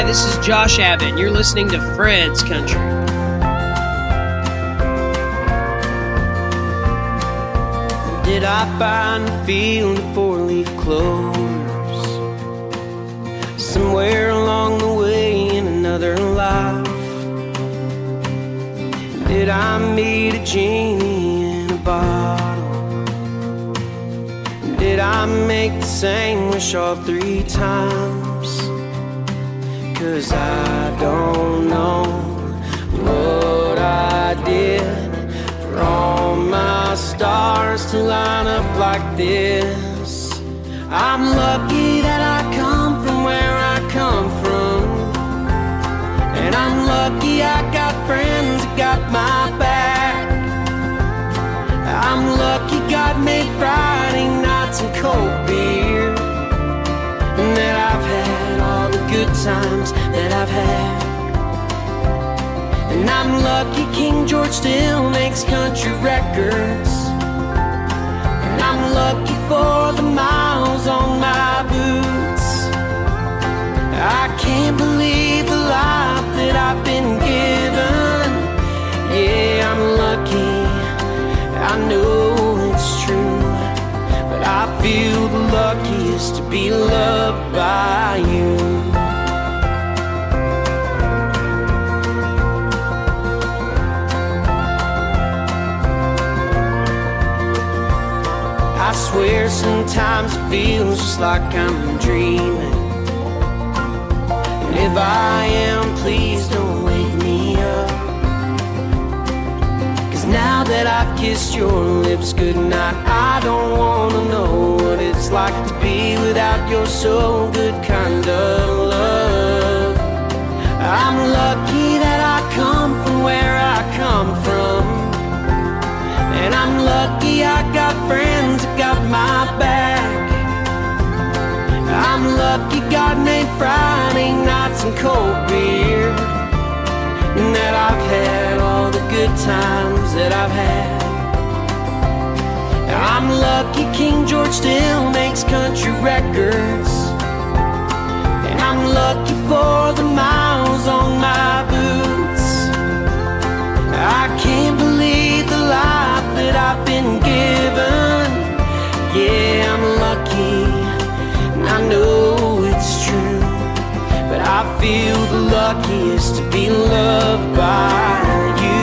Hi, this is Josh Abbott, and you're listening to Fred's Country. Did I find a field of four-leaf clovers somewhere along the way in another life? Did I meet a genie in a bottle? Did I make the same wish off 3 times? 'Cause I don't know what I did for all my stars to line up like this. I'm lucky that I come from where I come from, and I'm lucky I got friends that got my back. I'm lucky God made Friday nights and cold beer, and that I've had all the good times that I've had. And I'm lucky King George still makes country records, and I'm lucky for the miles on my boots. I can't believe the life that I've been given. Yeah, I'm lucky, I know it's true, but I feel the luckiest to be loved by you. I swear sometimes it feels just like I'm dreaming, and if I am, please don't wake me up. 'Cause now that I've kissed your lips goodnight, I don't wanna know what it's like to be without your so good kind of love. I'm lucky that I come from where I come from, and I'm lucky I got friends that got my back. I'm lucky God made Friday nights and cold beer, and that I've had all the good times that I've had. I'm lucky King George still makes country records, and I'm lucky for the miles on my boots. I can't believe the life that I've been given. Yeah, I'm lucky, and I know it's true, but I feel the luckiest to be loved by you.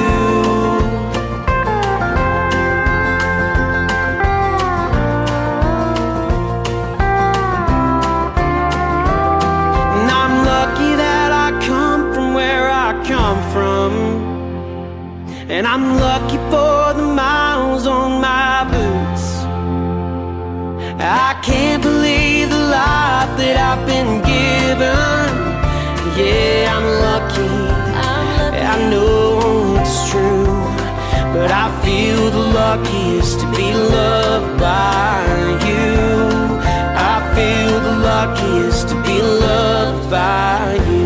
And I'm lucky that I come from where I come from, and I'm lucky for the miles on my boots. I can't believe the life that I've been given. Yeah, I'm lucky, I know it's true, but I feel the luckiest to be loved by you. I feel the luckiest to be loved by you.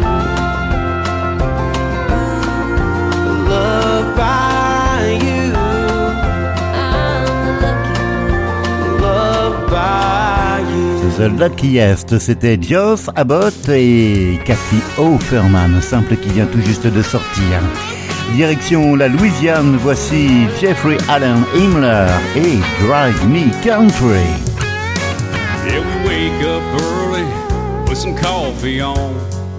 Loved by you. I'm lucky. Loved by you. The Luckiest, c'était Joss Abbott et Kathy Offerman, simple qui vient tout juste de sortir. Direction la Louisiane, voici Jeffrey Allen Himmler et Drive Me Country. Yeah, we wake up early with some coffee on.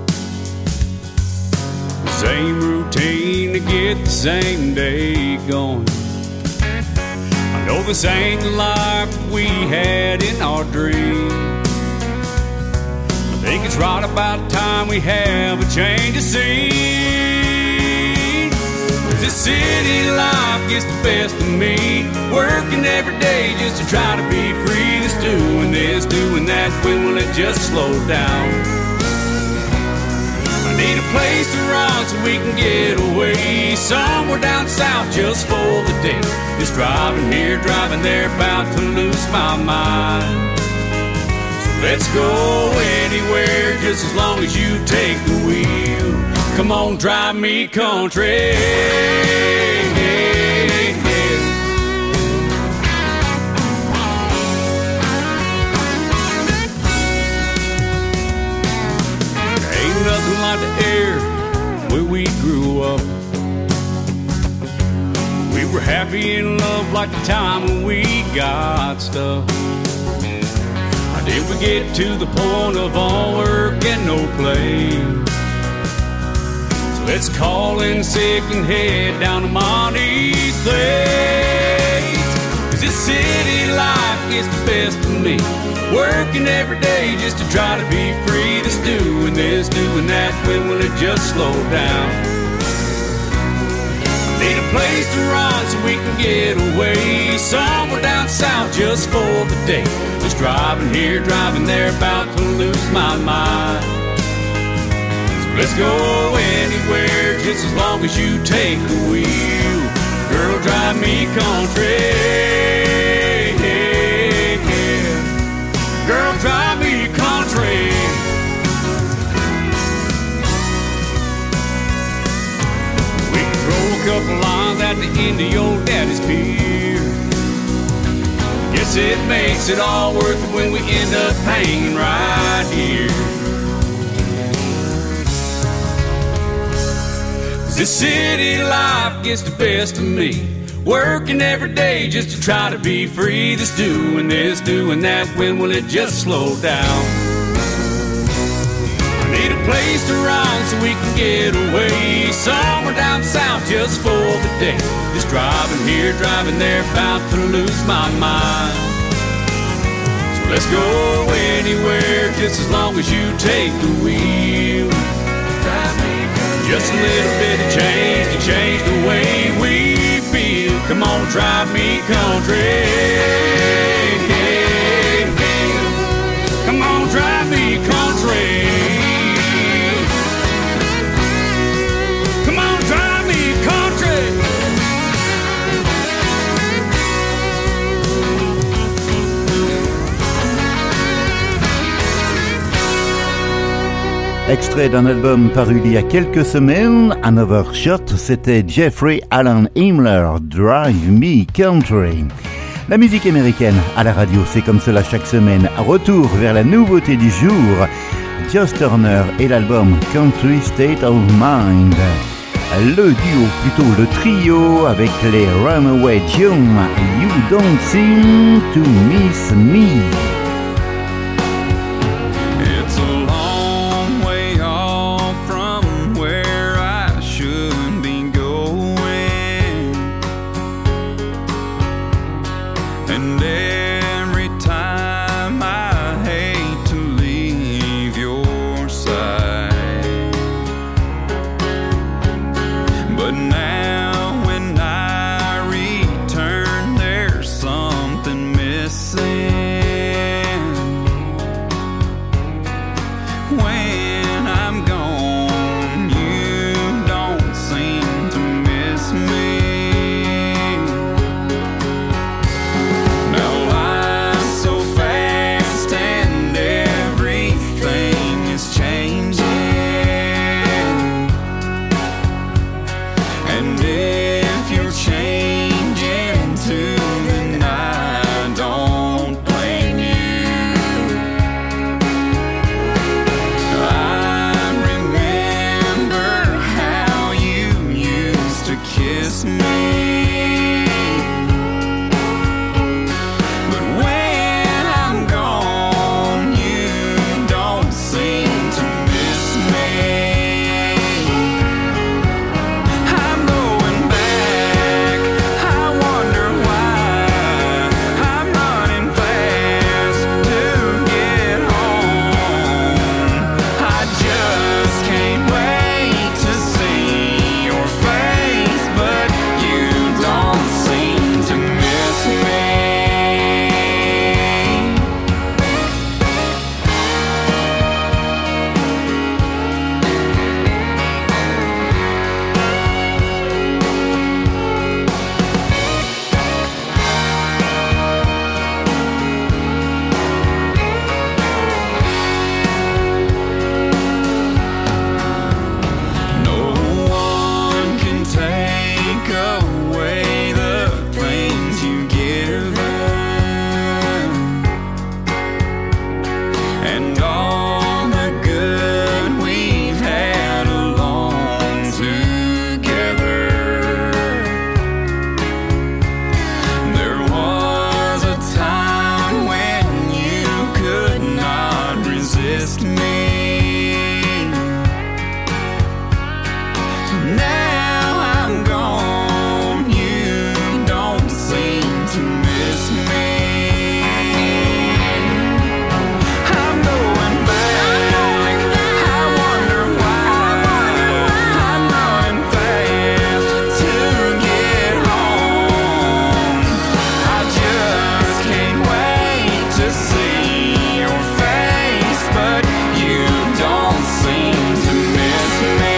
Same routine to get the same day going. I know this ain't the life we had in our dream. I think it's right about time we have a change of scene. 'Cause this city life gets the best of me, working every day just to try to be free. Just doing this, doing that, when will it just slow down? I need a place to run so we can get away, somewhere down south just for the day. Just driving here, driving there, about to lose my mind. So let's go anywhere, just as long as you take the wheel. Come on, drive me country. like the air where we grew up. We were happy in love like the time when we got stuck. Or did we get to the point of all work and no play? So let's call in sick and head down to Monty's place. 'Cause this city life gets the best of me, working every day just to try to be free. This doing this, doing that, when will it just slow down? Need a place to run so we can get away, somewhere down south just for the day. Just driving here, driving there, about to lose my mind. So let's go anywhere, just as long as you take the wheel. Girl, drive me country. Girl, drive me country. We can throw a couple lines at the end of your daddy's pier. Guess it makes it all worth it when we end up hanging right here. 'Cause this city life gets the best of me, working every day just to try to be free. This, doing that, when will it just slow down? I need a place to run so we can get away, somewhere down south just for the day. Just driving here, driving there, about to lose my mind. So let's go anywhere, just as long as you take the wheel. Just a little bit of change to change the way we feel. Come on, drive me country. Come on, drive me country. Come on, drive me country. Extrait d'un album paru il y a quelques semaines, Another Shot, c'était Jeffrey Alan Himmler, Drive Me Country. La musique américaine à la radio, c'est comme cela chaque semaine. Retour vers la nouveauté du jour, Joss Turner et l'album Country State of Mind. Le duo, plutôt le trio, avec les Runaway June, You Don't Seem to Miss Me. Something missing. missed me. Now I'm gone, you don't seem to miss me. I'm going back, I wonder why. I'm running fast to get home. I just can't wait to see your face, but you don't seem to miss me.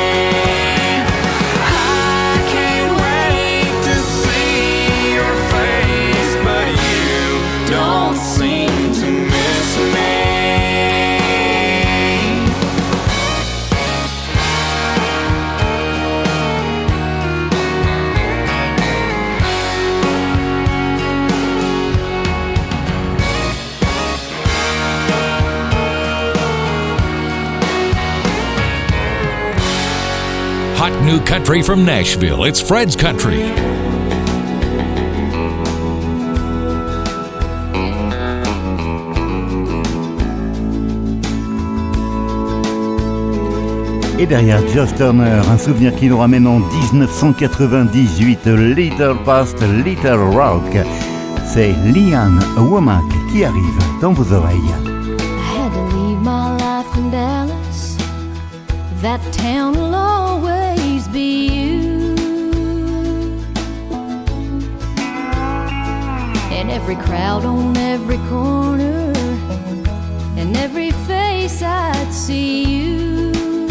I can't wait to see your face, but you don't seem to miss me. Hot new country from Nashville. It's Fred's Country. Et derrière Josh Turner, un souvenir qui nous ramène en 1998, Little Past Little Rock. C'est Leanne Womack qui arrive dans vos oreilles. I had to leave my life in Dallas. That town will always be you. And every crowd on every corner, and every face I'd see you.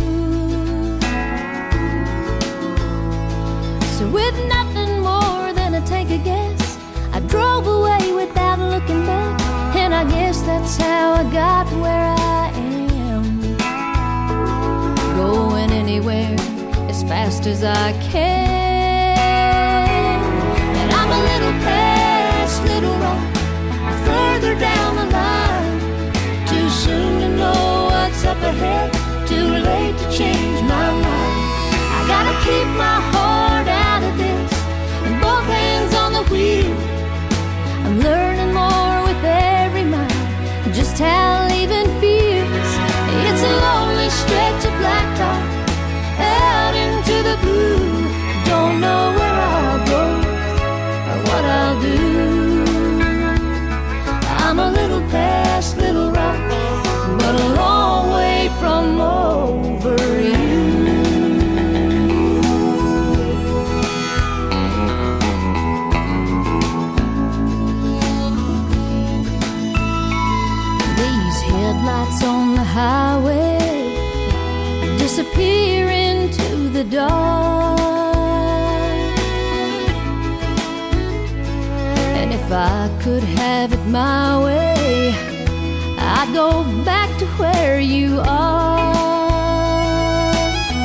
So with nothing more than a take a guess, I drove away without looking back. And I guess that's how I got where I am. Going anywhere as fast as I can. And I'm a little past Little Rock, further down the line. Too soon to know what's up ahead, too late to change my mind. I gotta keep my heart out of this, and both hands on the wheel. I'm learning more with every mile, just how leaving feels. It's a lonely stretch of blacktop out into the blue. Don't know where I'll go or what I'll do. I'm a little past Little Rock, but a long way from over you. Headlights on the highway disappear into the dark. And if I could have it my way, I'd go back to where you are.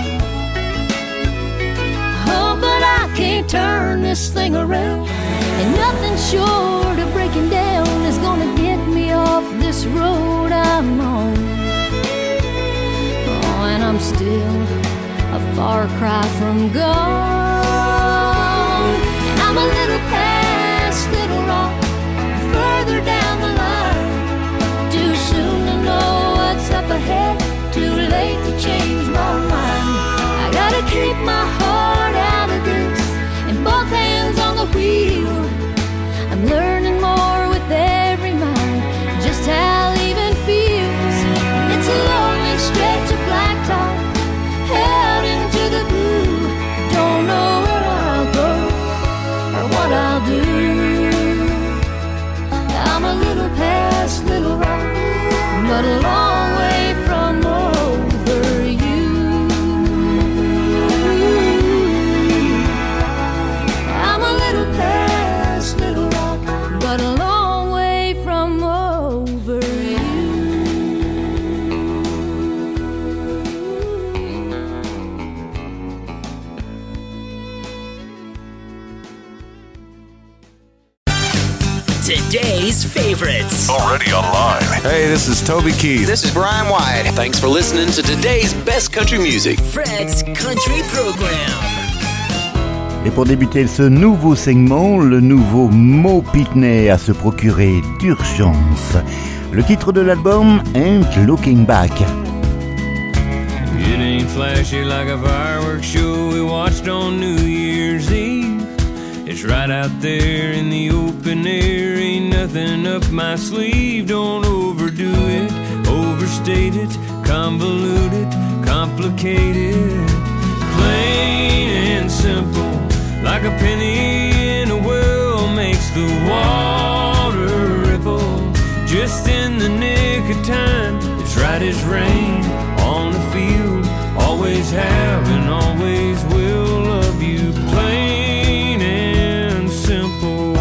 Oh, but I can't turn this thing around, and nothing short of breaking down is gonna get me off this road I'm on. Oh, and I'm still a far cry from gone. And I'm a little past Little Rock, further down the line. Too soon to know what's up ahead, too late to change my mind. I gotta keep my heart out of this, and both hands on the wheel. I'm learning more with every mile, just how leaving feels. It's a lonely stretch of blacktop out into the blue. Don't know where I'll go or what I'll do. I'm a little past Little Rock, but a long way from over you. I'm a little past Little Rock, but a long way from over you. Today's favorites. Already online. Hey, this is Toby Keith. This is Brian White. Thanks for listening to today's best country music. Fred's Country Program. Et pour débuter ce nouveau segment, le nouveau Mo Pitney à se procurer d'urgence. Le titre de l'album, Ain't Looking Back. It ain't flashy like a fireworks show we watched on New Year's Eve. It's right out there in the open air, ain't nothing up my sleeve. Don't overdo it, overstate it, convolute it, complicate it. Plain and simple, like a penny in a well, makes the water ripple. Just in the nick of time, it's right as rain on the field. Always have and always will love you. Plain and simple.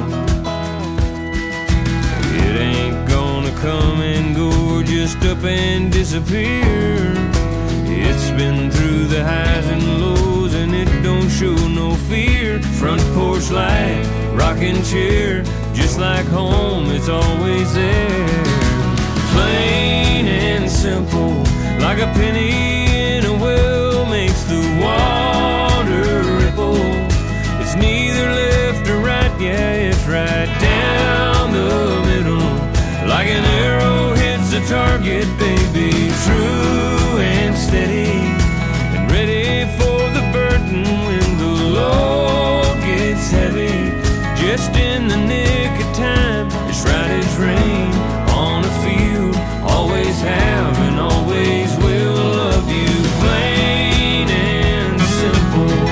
It ain't gonna come and go or just up and disappear. It's been through the highs and lows and it don't show no fear. Front porch light, rocking chair, just like home, it's always there. Plain and simple, like a penny in a well, makes the water ripple. It's neither left or right, yeah, it's right down the middle. Like an arrow hits a target, baby, true and steady, and ready for the burden when the load gets heavy. Just in the nick of time, it's right as rain on a field. Always have and always will love you. Plain and simple.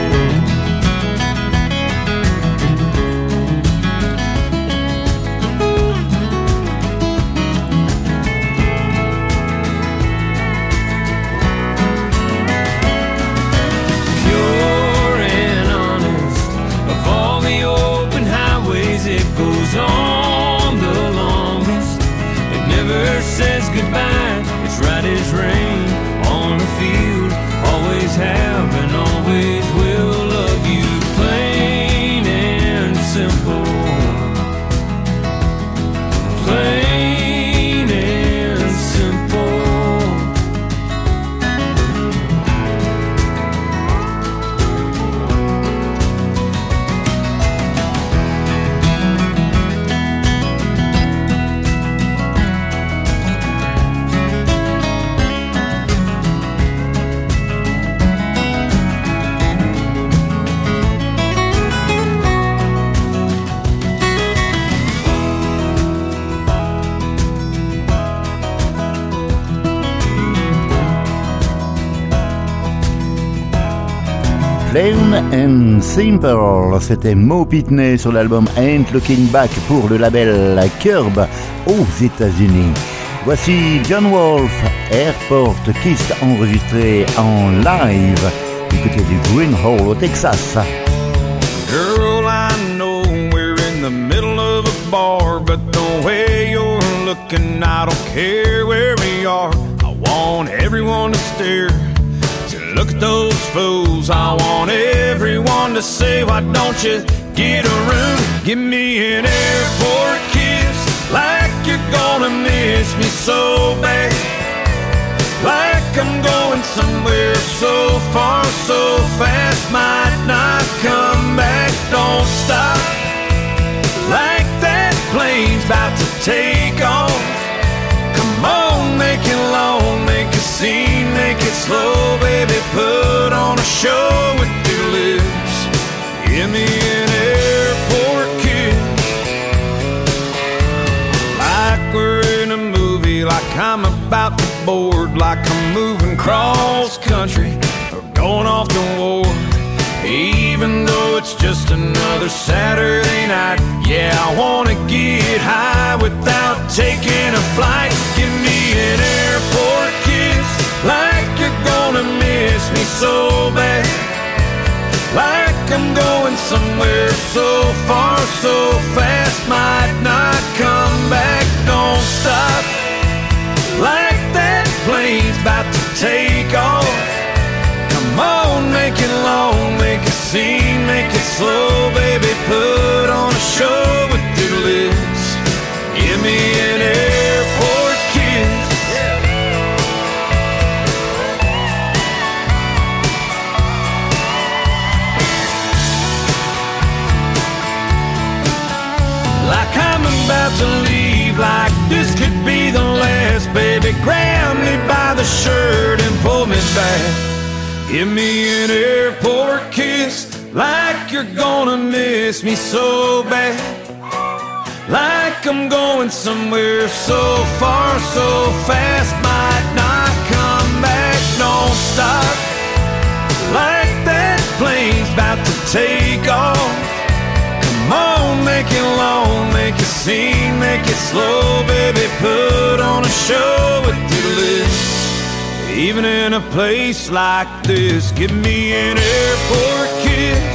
Pure and honest, of all the open highways, it goes on the longest. It never says goodbye, it's right as rain on the field. Always have and always will love you. Plain and simple. Plain and simple. Plain and Simple, c'était Mo Pitney sur l'album Ain't Looking Back pour le label Curb aux États-Unis. Voici John Wolfe, Airport Kiss, enregistré en live du côté du Green Hall au Texas. Girl, I know we're in the middle of a bar, but the way you're looking, I don't care where we are. I want everyone to stare. Look at those fools, I want everyone to say, why don't you get a room? Give me an airport kiss, like you're gonna miss me so bad. Like I'm going somewhere so far, so fast, might not come back. Don't stop, like that plane's about to take off. Come on, make it long, make a scene, make it slow, baby, put on a show with your lips. Give me an airport kiss, like we're in a movie, like I'm about to board, like I'm moving cross country or going off to war. Even though it's just another Saturday night, yeah, I wanna get high without taking a flight. Give me an airport kiss, like you're gonna miss me so bad. Like I'm going somewhere so far, so fast, might not come back. Don't stop, like that plane's about to take off. Come on, make it long, make a scene, make it slow, baby, put on a show with your lips. Give me an airport kiss. Like I'm about to leave, like this could be the shirt and pull me back. Give me an airport kiss, like you're gonna miss me so bad. Like I'm going somewhere so far, so fast, might not come back, don't stop. Like that plane's about to take off. Come on, make it long, make it scene, make it slow, baby, put on a show with your lips. Even in a place like this, give me an airport kiss.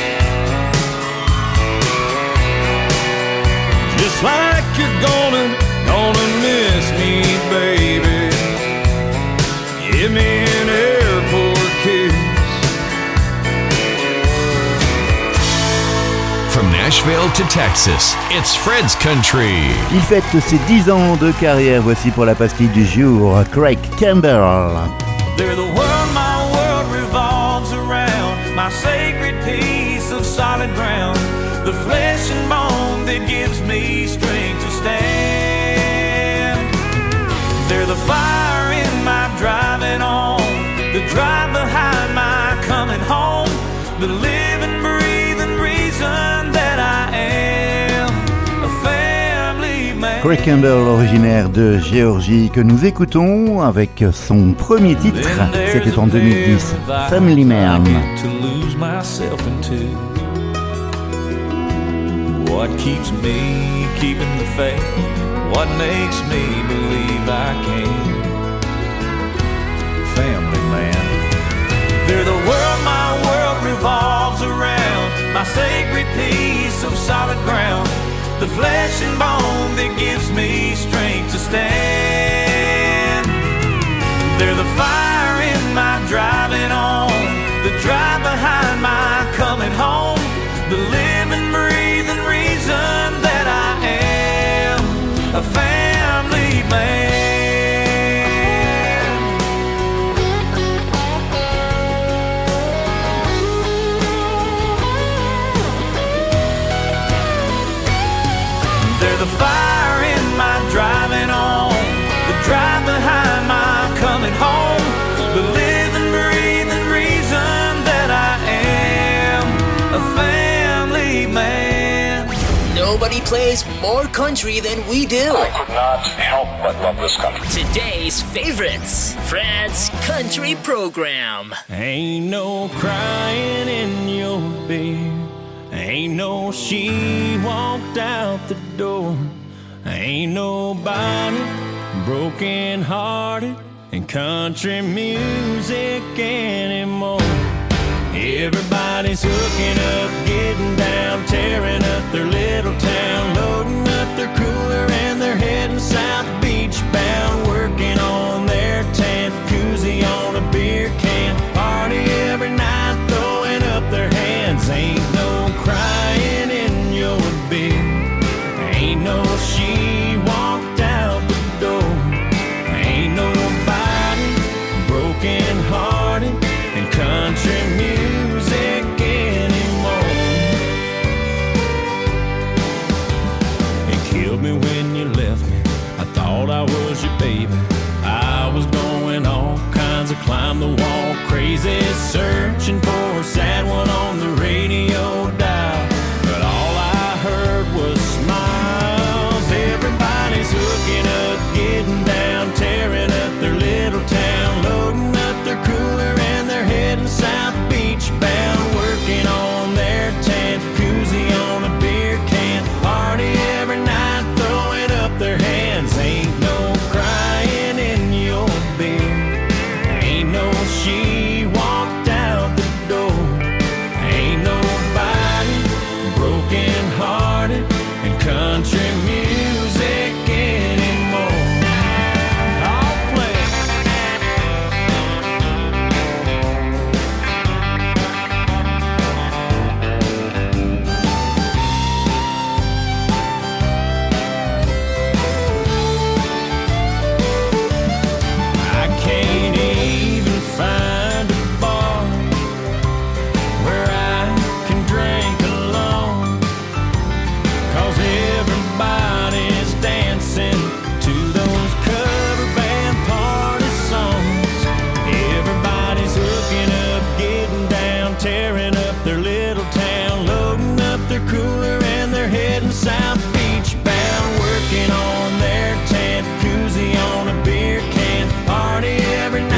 Just like you're gonna miss me, baby. Give me an airport kiss. From Nashville to Texas, it's Fred's Country. Il fête ses 10 ans de carrière. Voici pour la pastille du jour, Craig Campbell. They're the world my world revolves around, my sacred piece of solid ground, the flesh and bone that gives me strength to stand. They're the fire in my driving on, the drive behind my coming home, the living, breathing reason that I am a family man. Craig Campbell, originaire de Géorgie, que nous écoutons avec son premier titre, c'était en 2010, Family Man. What keeps me keeping the faith? What makes me believe I can? Family man. They're the world my world revolves around, my sacred piece of solid ground, the flesh and bone that gives me strength to stand. They're the fire in my driving on, the drive behind my coming home, the living, breathing reason that I am a family man. They're the fire in my driving on, the drive behind my coming home, the living, breathing reason that I am a family man. Nobody plays more country than we do. I could not help but love this country. Today's favorites, Fred's Country Program. Ain't no crying in your bed, ain't no she walked out the door, ain't nobody broken hearted in country music anymore. Everybody's hooking up, getting down, tearing up their little town, loading up their cooler and they're heading south beach bound, working on their tent, koozie on a beer can, party every night, throwing up their hands. Ain't no crying in your bed, ain't no she walked out the door, ain't nobody broken hearted in country music anymore. It killed me when you left me, I thought I was your baby, I was going all kinds of climb the wall crazy, searching for a sad one on the radio dial, but all I heard was smiles. Everybody's hooking up, getting down, tearing up their little town, loading up their cooler and they're heading south beach bound, working on their tent, koozie on a beer can, party every night, throwing up their hands. Ain't no crying in your bed, ain't no she walked out the door.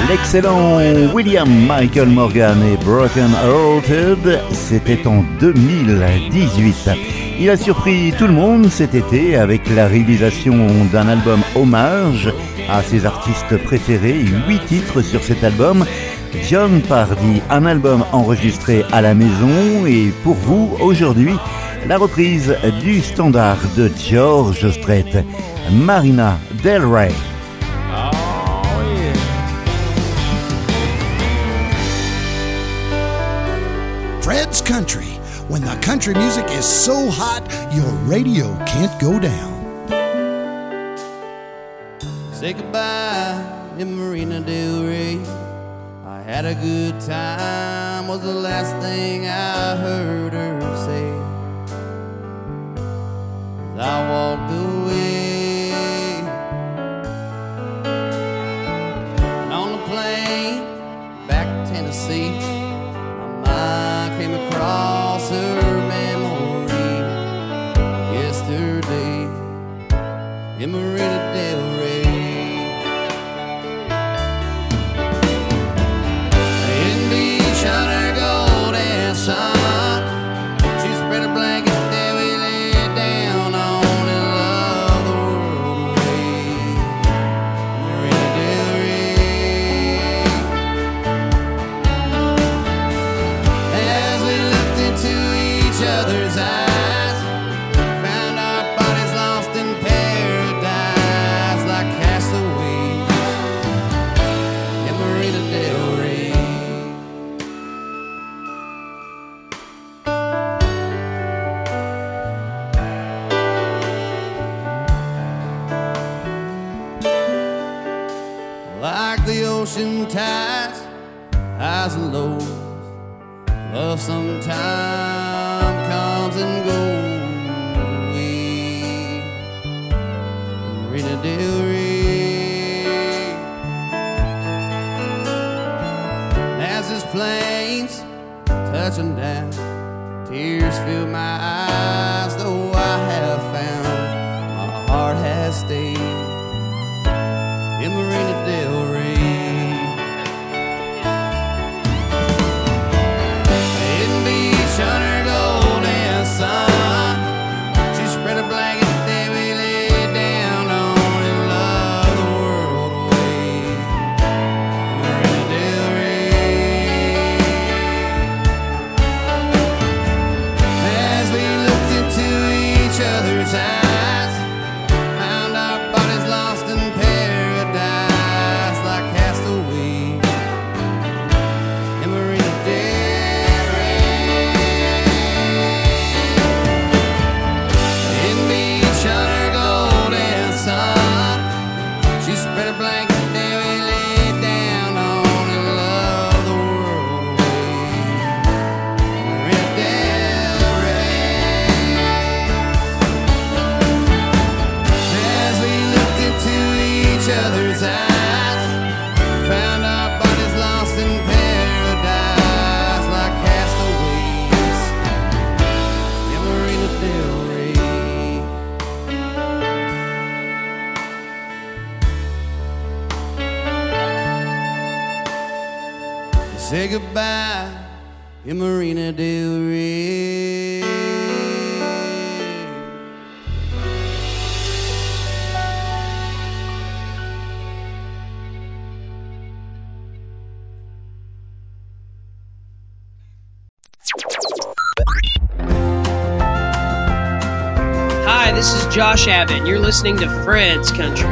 L'excellent William Michael Morgan et Broken Hearted, c'était en 2018. Il a surpris tout le monde cet été avec la réalisation d'un album hommage à ses artistes préférés, 8 titres sur cet album. Jon Pardi, un album enregistré à la maison, et pour vous aujourd'hui, la reprise du standard de George Strait, Marina Del Rey. Fred's Country. When the country music is so hot, your radio can't go down. Say goodbye in Marina Del Rey. I had a good time, was the last thing I heard her say. As I walked away, and on the plane back to Tennessee, I came across her memory yesterday in Marina Del Rey. In beach on her golden sun, she spread a blanket there we lay down on and love the world away. Marina Del Rey. As we looked into each other's eyes, found our bodies lost in paradise like castaways in Marina Del Rey. Like the ocean tides, highs and lows, love sometime comes and goes away. Marina Del Rey. As this plane's touching down, tears fill my eyes, though I have found my heart has stayed in Marina Del Rey. In beach on her golden sun, she spread a blanket there we lay down on and love the world away. Marina Del Rey. As we looked into each other's eyes, found our bodies lost in paradise like castaways in Marina Del Rey. In beach on her golden sun, she spread a blanket there we lay down on and love the world away. Marina Del Rey. As we looked into each other's eyes, found our bodies lost in paradise like castaways in Marina Del Rey. Say goodbye in Marina Del Rey. Hi, this is Josh Abbott, and you're listening to Fred's Country.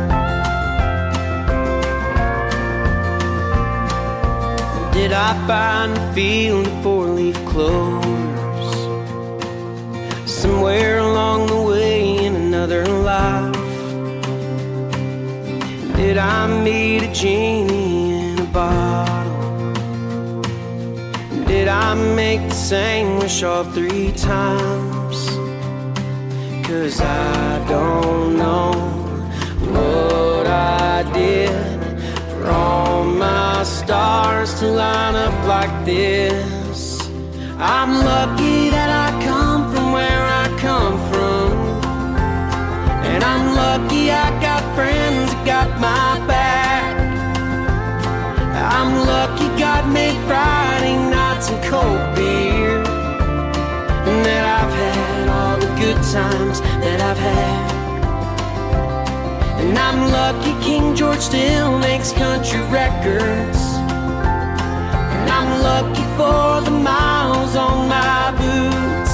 Did I find a field of four-leaf clovers somewhere along the way in another life? Did I meet a genie in a bottle? Did I make the same wish all 3 times? 'Cause I don't know what I did for all my stars to line up like this. I'm lucky that I come from where I come from, and I'm lucky I got friends that got my back. times that I've had. And I'm lucky King George still makes country records. And I'm lucky for the miles on my boots.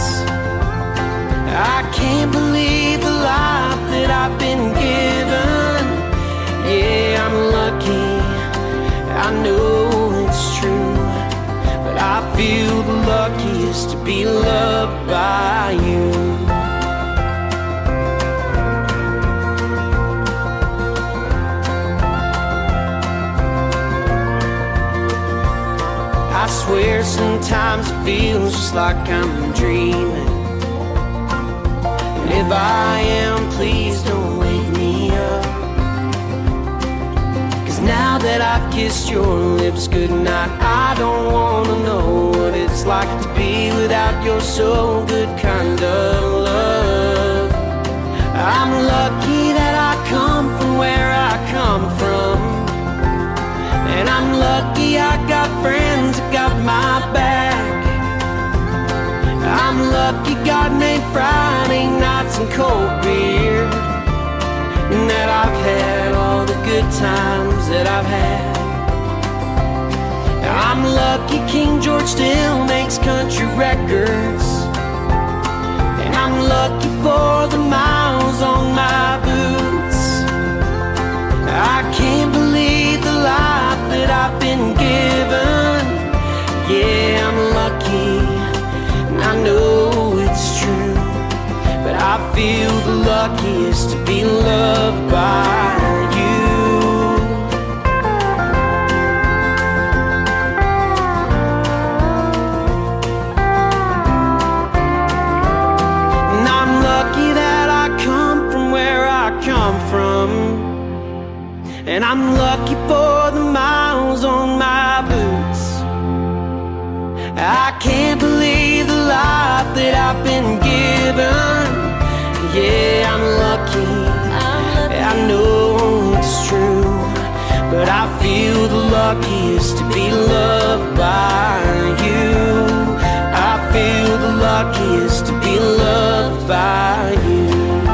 I can't believe the life that I've been given. Yeah, I'm lucky, I know it's true. But I feel the luckiest to be loved by you. I swear sometimes it feels just like I'm dreaming. And if I am, please don't wake me up. 'Cause now that I've kissed your lips goodnight, I don't wanna know what it's like to be without your so good kind of love. I'm lucky that I come from where I come from. And I'm lucky I got friends that got my back. I'm lucky God made Friday nights and cold beer, and that I've had all the good times that I've had. I'm lucky King George still makes country records. And I'm lucky for the miles on my boots. I can't believe the life that I've been given. Yeah, I'm lucky, and I know it's true. But I feel the luckiest to be loved by you. And I'm lucky that I come from where I come from. And I'm lucky for the miles on my boots. I can't believe the life that I've been given. Yeah, I'm lucky, I know it's true. But I feel the luckiest to be loved by you. I feel the luckiest to be loved by you.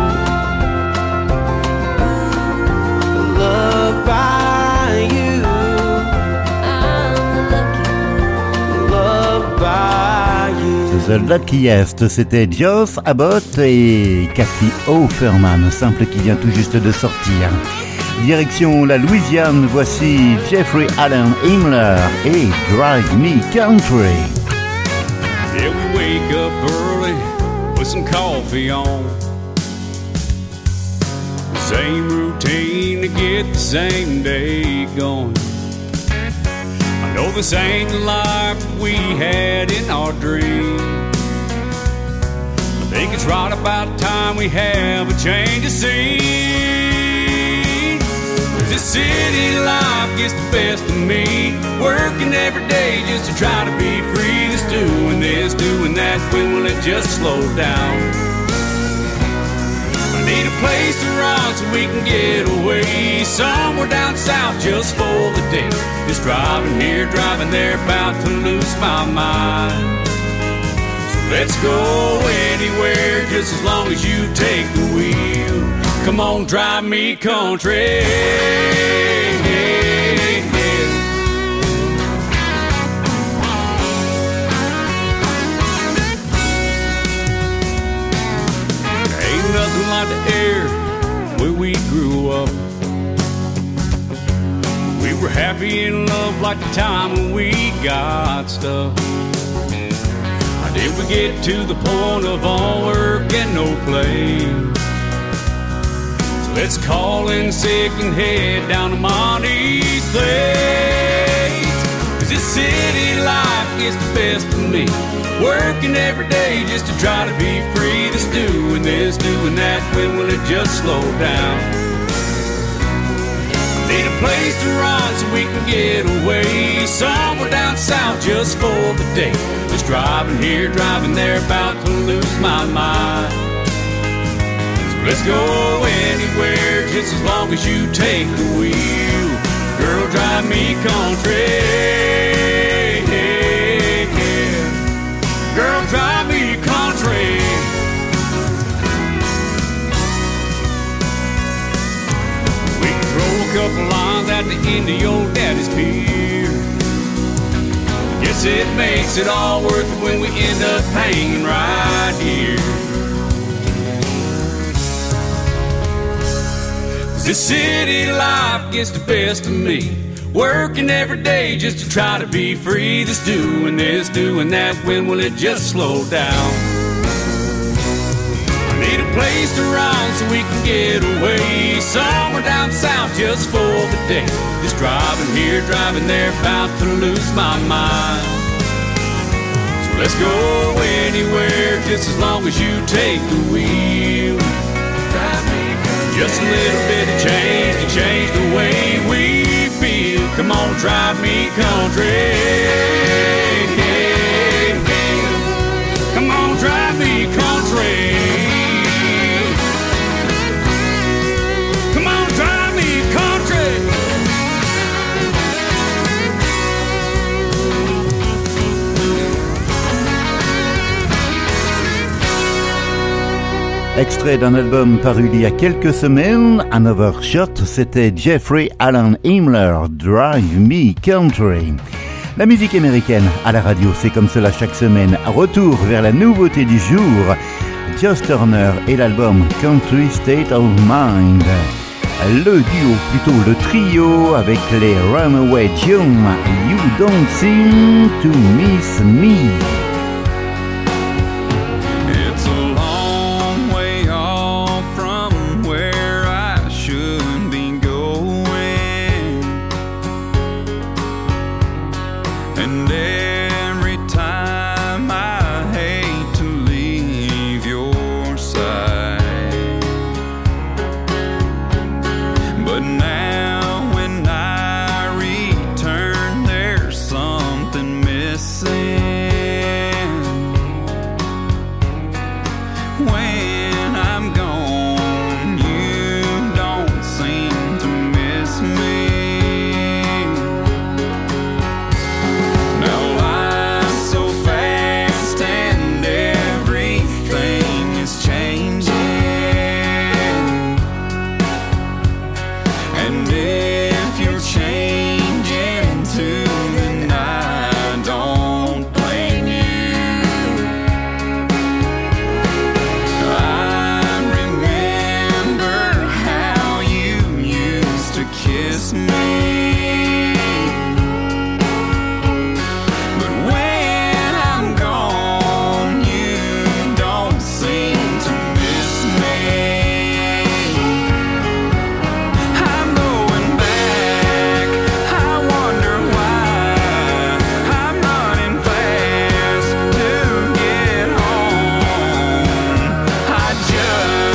Loved by you. I'm lucky. Loved by you. The Luckiest, c'était Joss Abbott et Kathy Offerman, simple qui vient tout juste de sortir. Direction la Louisiane, voici Jeffrey Allen Himmler et Drive Me Country. Yeah, we wake up early with some coffee on. Same routine to get the same day going. I know this ain't the life we had in our dream. I think it's right about time we have a change of scene. 'Cause this city life gets the best of me, working every day just to try to be free. Just doing this, doing that, when will it just slow down? I need a place to run so we can get away, somewhere down south just for the day. Just driving here, driving there, about to lose my mind. So let's go anywhere, just as long as you take the wheel. Come on, drive me country. Ain't nothing like the air where we grew up. We were happy in love like the time when we got stuff. How did we get to the point of all work and no play? So let's call in sick and head down to Monty's place. 'Cause this city life gets the best of me, working every day just to try to be free. Just doing this, doing that, when will it just slow down? Need a place to run so we can get away, somewhere down south just for the day. Just driving here, driving there, about to lose my mind. So let's go anywhere, just as long as you take the wheel. Girl, drive me country. Girl, drive me country. couple lines at the end of your daddy's pier. Guess it makes it all worth it when we end up hanging right here. This city life gets the best of me, working every day just to try to be free. This, doing that, when will it just slow down? I need a place to run so we can get away, somewhere down south just for the day. Just driving here, driving there, about to lose my mind. So let's go anywhere, just as long as you take the wheel. Just a little bit of change to change the way we feel. Come on, drive me country. Come on, drive me country. Come on, drive me country. Extrait d'un album paru il y a quelques semaines, Another Shot, c'était Jeffrey Alan Himmler, Drive Me Country. La musique américaine à la radio, c'est comme cela chaque semaine. Retour vers la nouveauté du jour, Joss Turner et l'album Country State of Mind. Le duo, plutôt le trio avec les Runaway June, You Don't Seem to Miss Me.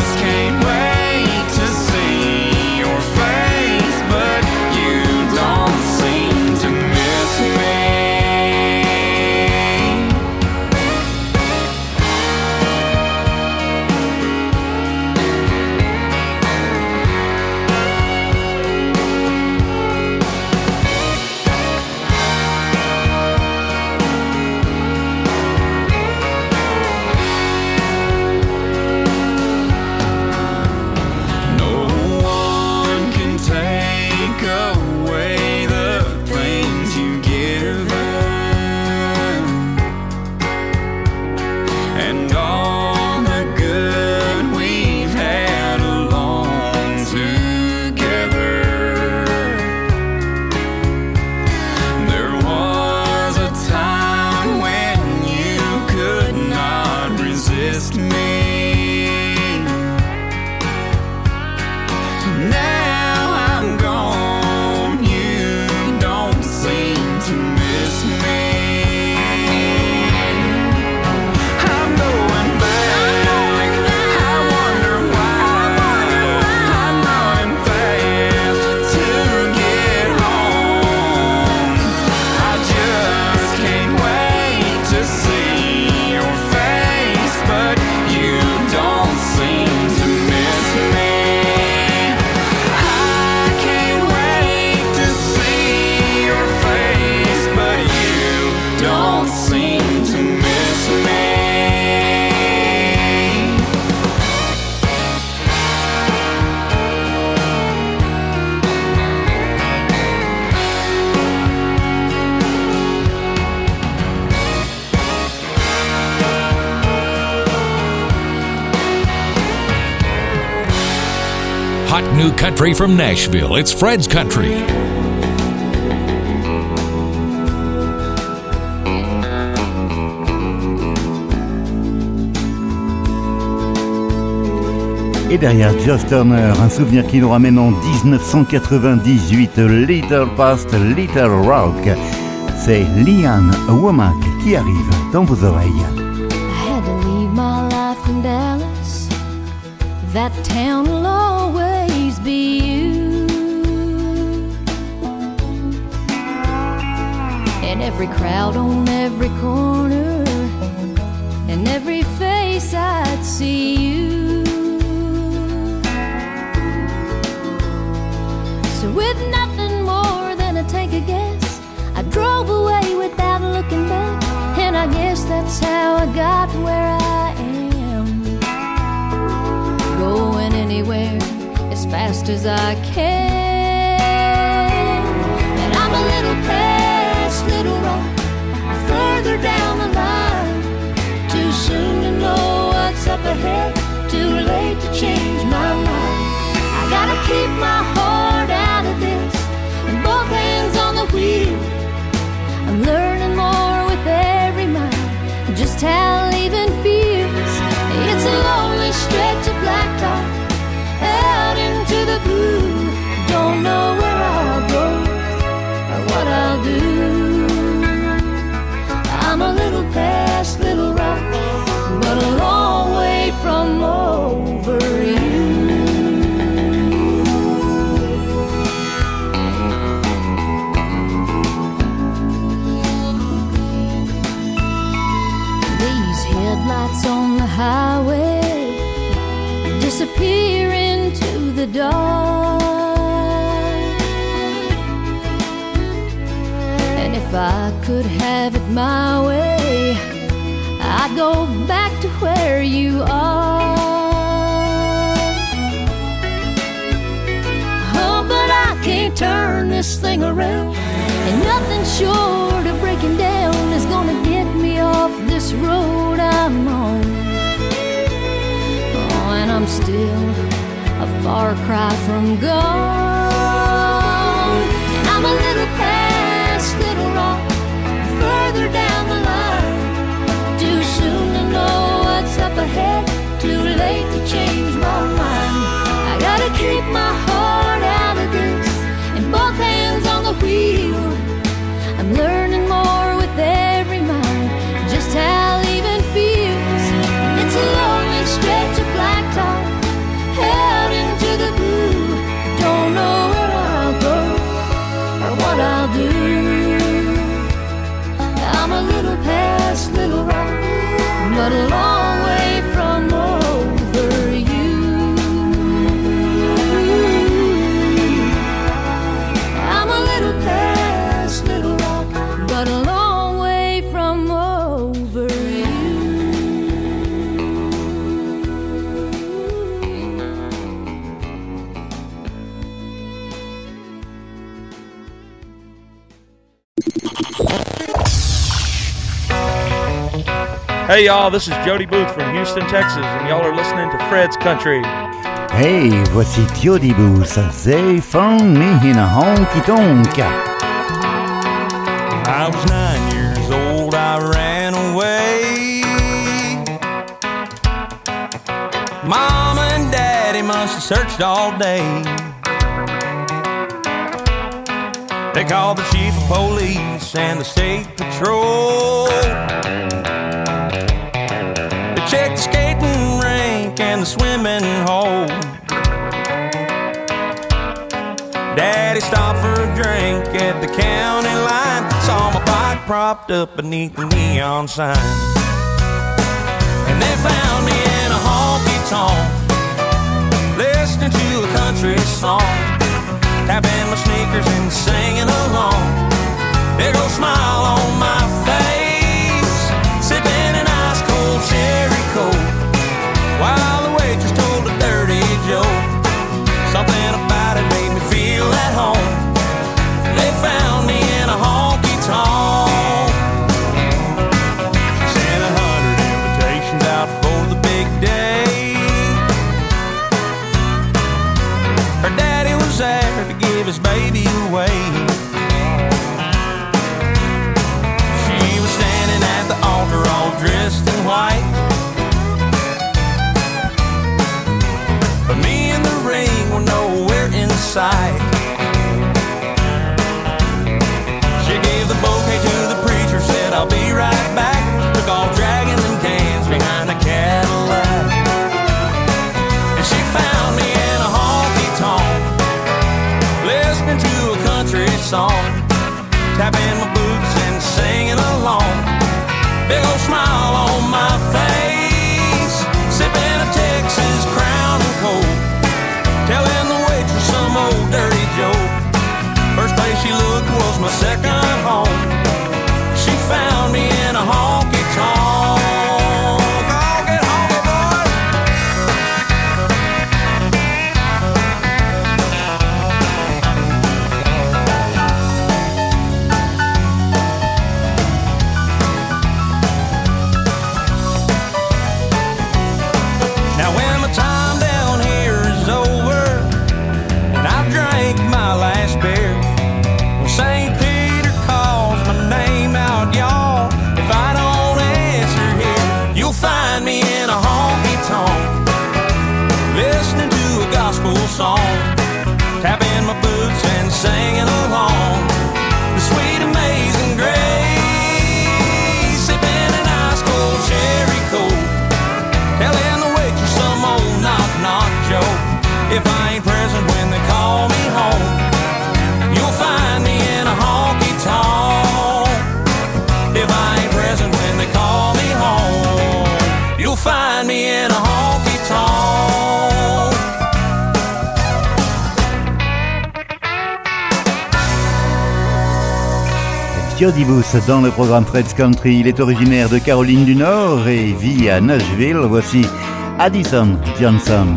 Don't hot new country from Nashville. It's Fred's Country. Et derrière Josh Turner, un souvenir qui nous ramène en 1998, Little Past Little Rock. C'est Leanne Womack qui arrive dans vos oreilles. I had to leave my life in Dallas. That town will always be you. And every crowd on every corner, and every face I'd see you. So with nothing more than a take a guess, I drove away without looking back. And I guess that's how I got where I am. Going anywhere as fast as I can. And I'm a little past Little Rock, further down the line. Too soon to know what's up ahead, too late to change my mind. I gotta keep my heart out of this, and both hands on the wheel. I'm learning more with every mile, just how leaving feels. It's a lonely stretch of blacktop out into the blue. Don't know where I'll go or what I'll do. I'm a little past Little Rock, but a long way from over you. Headlights on the highway disappear into the dark. And if I could have it my way, I'd go back to where you are. Oh, but I can't turn this thing around, and nothing short of breaking down is gonna get me off this road I'm on. Oh, and I'm still a far cry from gone. And I'm a little past Little Rock, further down the line. Too soon to know what's up ahead, too late to change my mind. I gotta keep my heart out of this, and both hands on the wheel. I'm learning more with every mile, just how leaving feels. It's a lonely stretch of blacktop out into the blue. Don't know where I'll go or what I'll do. I'm a little past Little Rock, but a long way from over you. I'm a little past Little Rock, but a long way from over you. Hey y'all, this is Jody Booth from Houston, Texas, and y'all are listening to Fred's Country. Hey, voici Jody Booth. They found me in a honky tonk. I was 9 years old, I ran away. Mama and Daddy must have searched all day. They called the chief of police and the state patrol. They checked the skating rink and the swimming hole. Daddy stopped for a drink at the county line. Saw my bike propped up beneath the neon sign. And they found me in a honky-tonk, listening to a country song, tapping my sneakers and singing along. Big old smile on my face, sipping an ice-cold cherry coke, while the waitress told a dirty joke. Something about it made me feel at home. They found me in a honky-tonk. Sent 100 invitations out for the big day. baby away. She was standing at the altar all dressed in white, but me and the ring were nowhere in sight. She gave the bouquet to the preacher, said I'll be right back. Took off dragging them cans behind a Cadillac. And she found me in a honky-tonk, listening to a country song, tapping my boots and singing along. Big old smile on my face, sipping a Texas Crown and Coke, telling the waitress some old dirty joke. First place she looked was my second home. She found me in a honky-tonk. Oh, get honky, boys. Now when my time down here is over and I've drank my last beer, when St. Peter calls my name out, y'all, if I don't answer here, you'll find me in a honky-tonk, listening to a gospel song, tapping my boots and singing along the sweet amazing grace, sipping an ice cold cherry coke, telling the waitress some old knock-knock joke. If I ain't present when they call me home, you'll find me in a honky-tonk. If I ain't present when they call me home, you'll find me in a honky-tonk. Jody Booth dans le programme Fred's Country. Il est originaire de Caroline du Nord et vit à Nashville. Voici Addison Johnson.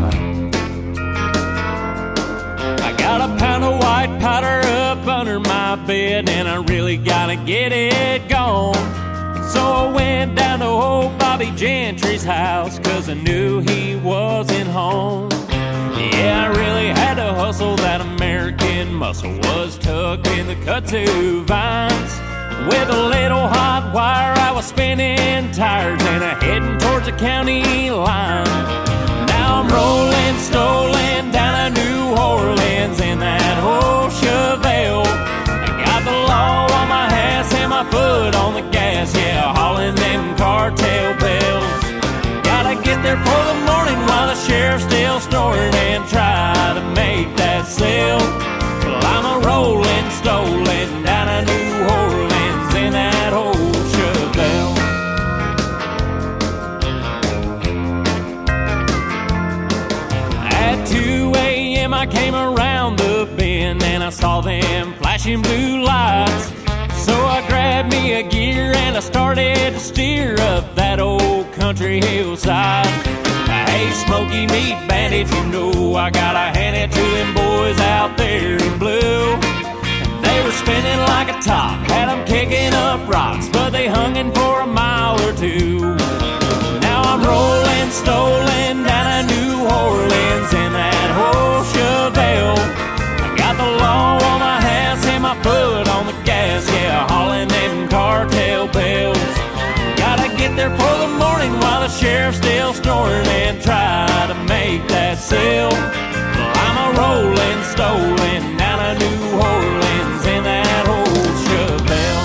I got a pound of white powder up under my bed and I really gotta get it gone. So I went down to old Bobby Gentry's house, cause I knew he wasn't home. Yeah, I really had to hustle, that American muscle was tucked in the kudzu vines. With a little hot wire I was spinning tires and heading towards the county line. Now I'm rolling, stolen down to New Orleans in that old Chevelle. I got the law on my ass and my foot on the gas, yeah, hauling them cartel bells. Gotta get there for the morning while the sheriff's still snoring and try to make that sale. Well, I'm a rolling, stolen down to New Orleans in that old Chevelle. At 2 a.m. I came around the bend and I saw them flashing blue lights. So I grabbed me a gear and I started to steer up that old country hillside. Hey, Smoky Meat Bandit, you know I gotta hand it to them boys out there in blue. They were spinning like a top, had them kicking up rocks, but they hung in for a mile or two. Now I'm rolling, stolen down to New Orleans in that old Chevelle. I got the law on my hands and my foot on the gas, yeah, hauling them cartel bells. Gotta get there for the morning while the sheriff's still snoring and try to make that sale. Well, I'm a rolling, stolen down to New Orleans in that old Chevelle.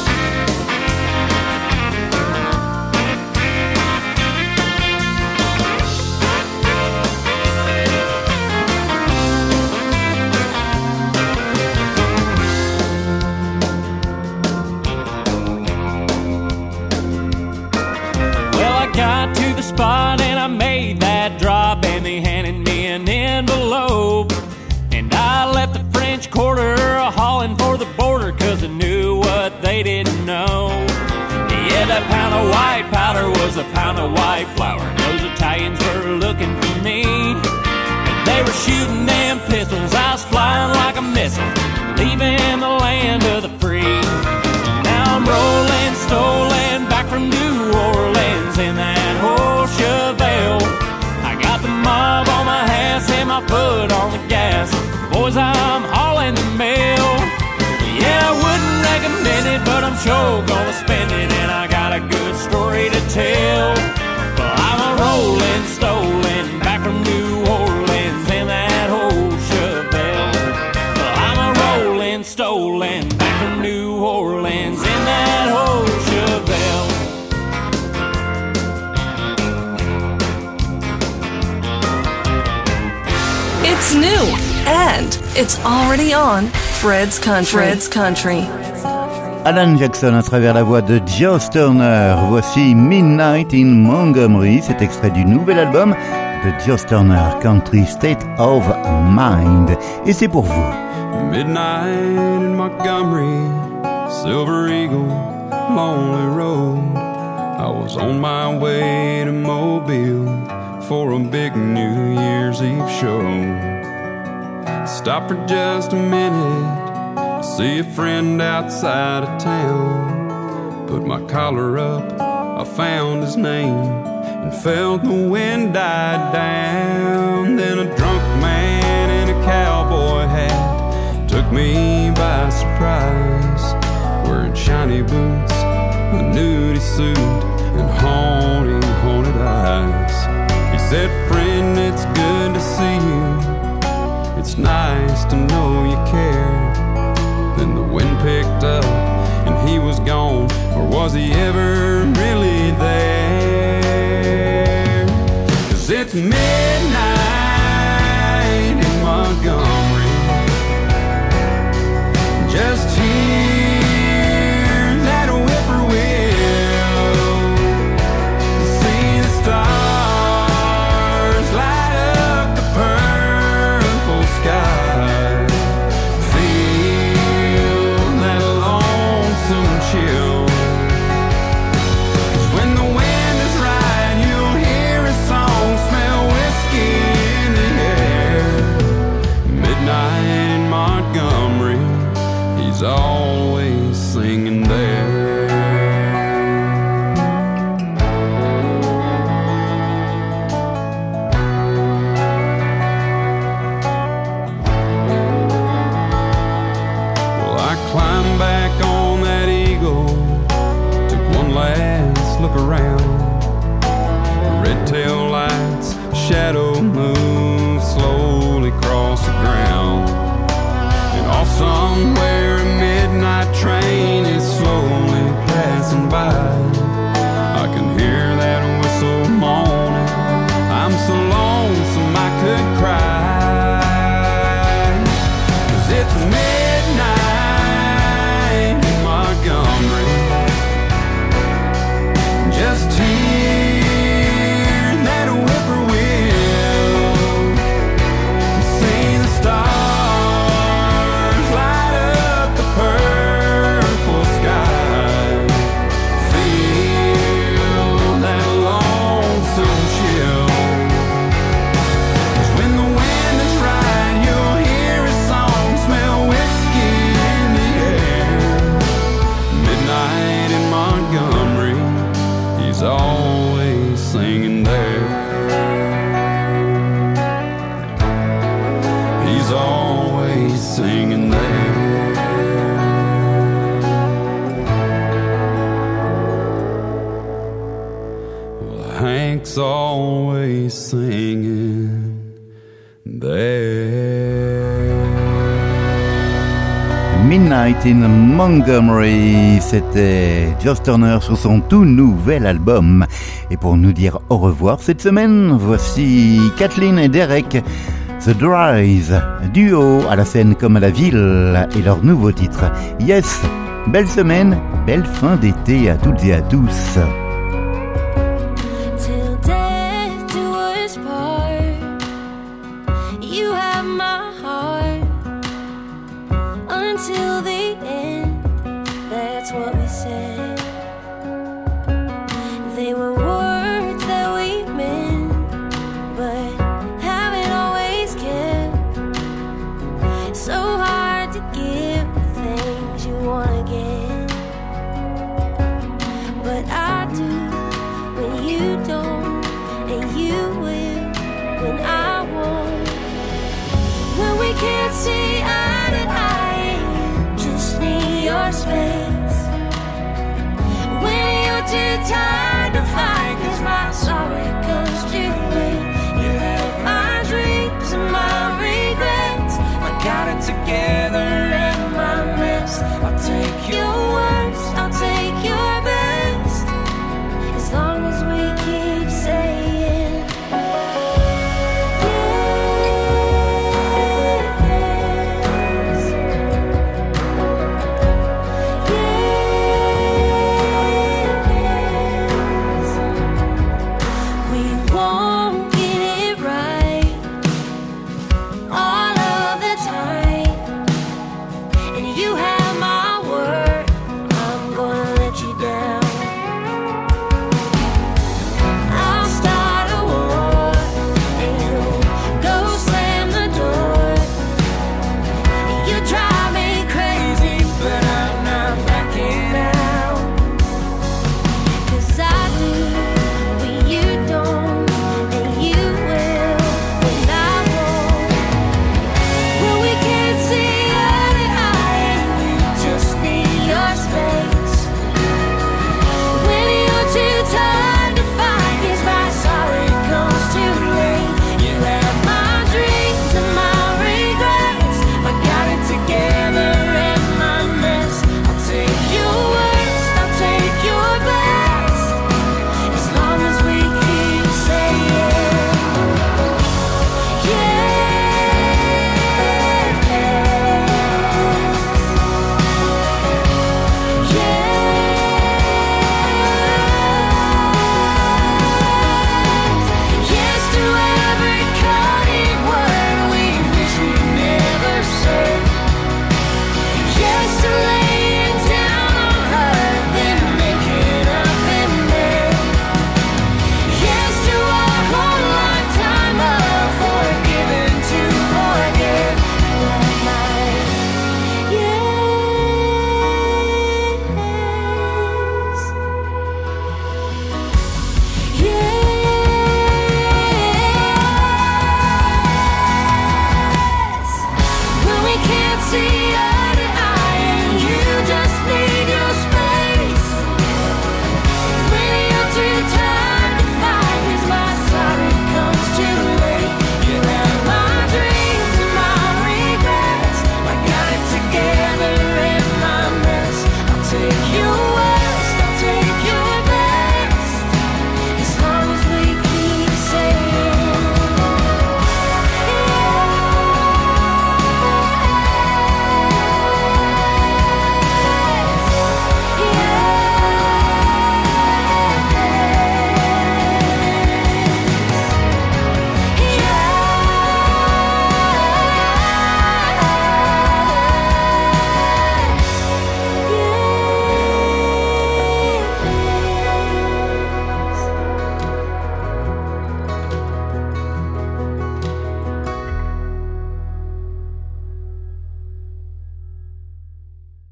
Got to the spot and I made that drop and they handed me an envelope. And I left the French Quarter hauling for the border cause I knew what they didn't know. Yeah, that pound of white powder was a pound of white flour. Those Italians were looking for me. And they were shooting them pistols. I was flying like a missile, leaving the land of the free. Now I'm rolling, stolen back from New Orleans in that old Chevelle. I got mob on my ass and my foot on the gas. Boys, I'm hauling the mail. stolen back from New Orleans in that old Chevelle. It's new, and it's already on Fred's Country. Fred's Country. Alan Jackson à travers la voix de Joss Turner. Voici Midnight in Montgomery, cet extrait du nouvel album de Joss Turner, Country State of Mind. Et c'est pour vous. Midnight in Montgomery, Silver Eagle, Lonely Road. I was on my way to Mobile for a big New Year's Eve show. Stopped for just a minute, see a friend outside of town. Put my collar up, I found his name, and felt the wind die down. Then a drunk man in a cowboy hat took me by surprise, wearing shiny boots, a nudie suit, and haunted eyes. He said, "Friend, it's good to see you. It's nice to know you care." Then the wind picked up and he was gone, or was he ever really there? 'Cause it's midnight in Montgomery, just hear that whippoorwill, see the stars light up the purple sky, feel that lonesome chill. 'Cause when the wind is right, you'll hear a song, smell whiskey in the air. Midnight in Montgomery, he's always singing there. Well, I climbed back on that Eagle, took one last look around. Red tail lights, shadow move slowly across the ground. And off somewhere a midnight train is slowly passing by. I can hear that whistle moaning, I'm so lonesome I could cry. 'Cause it's midnight in Montgomery, just hear that whippoorwill, see the stars light up the purple sky, feel that lonesome chill. 'Cause when the wind is right, you'll hear a song, smell whiskey in the air. Midnight in Montgomery, he's always singing there. He's always singing there. Well, Hank's always singing there. Midnight in Montgomery, c'était Joss Turner sur son tout nouvel album. Et pour nous dire au revoir cette semaine, voici Kathleen et Derek, The Drive, duo à la scène comme à la ville, et leur nouveau titre, Yes. Belle semaine, belle fin d'été à toutes et à tous. Till death do us part, you have my heart. Until the end, that's what we said. They were words that we meant, but haven't always kept. So hard to give the things you wanna get, but I do when you don't, and you will when I won't. When we can't see eye to eye, just You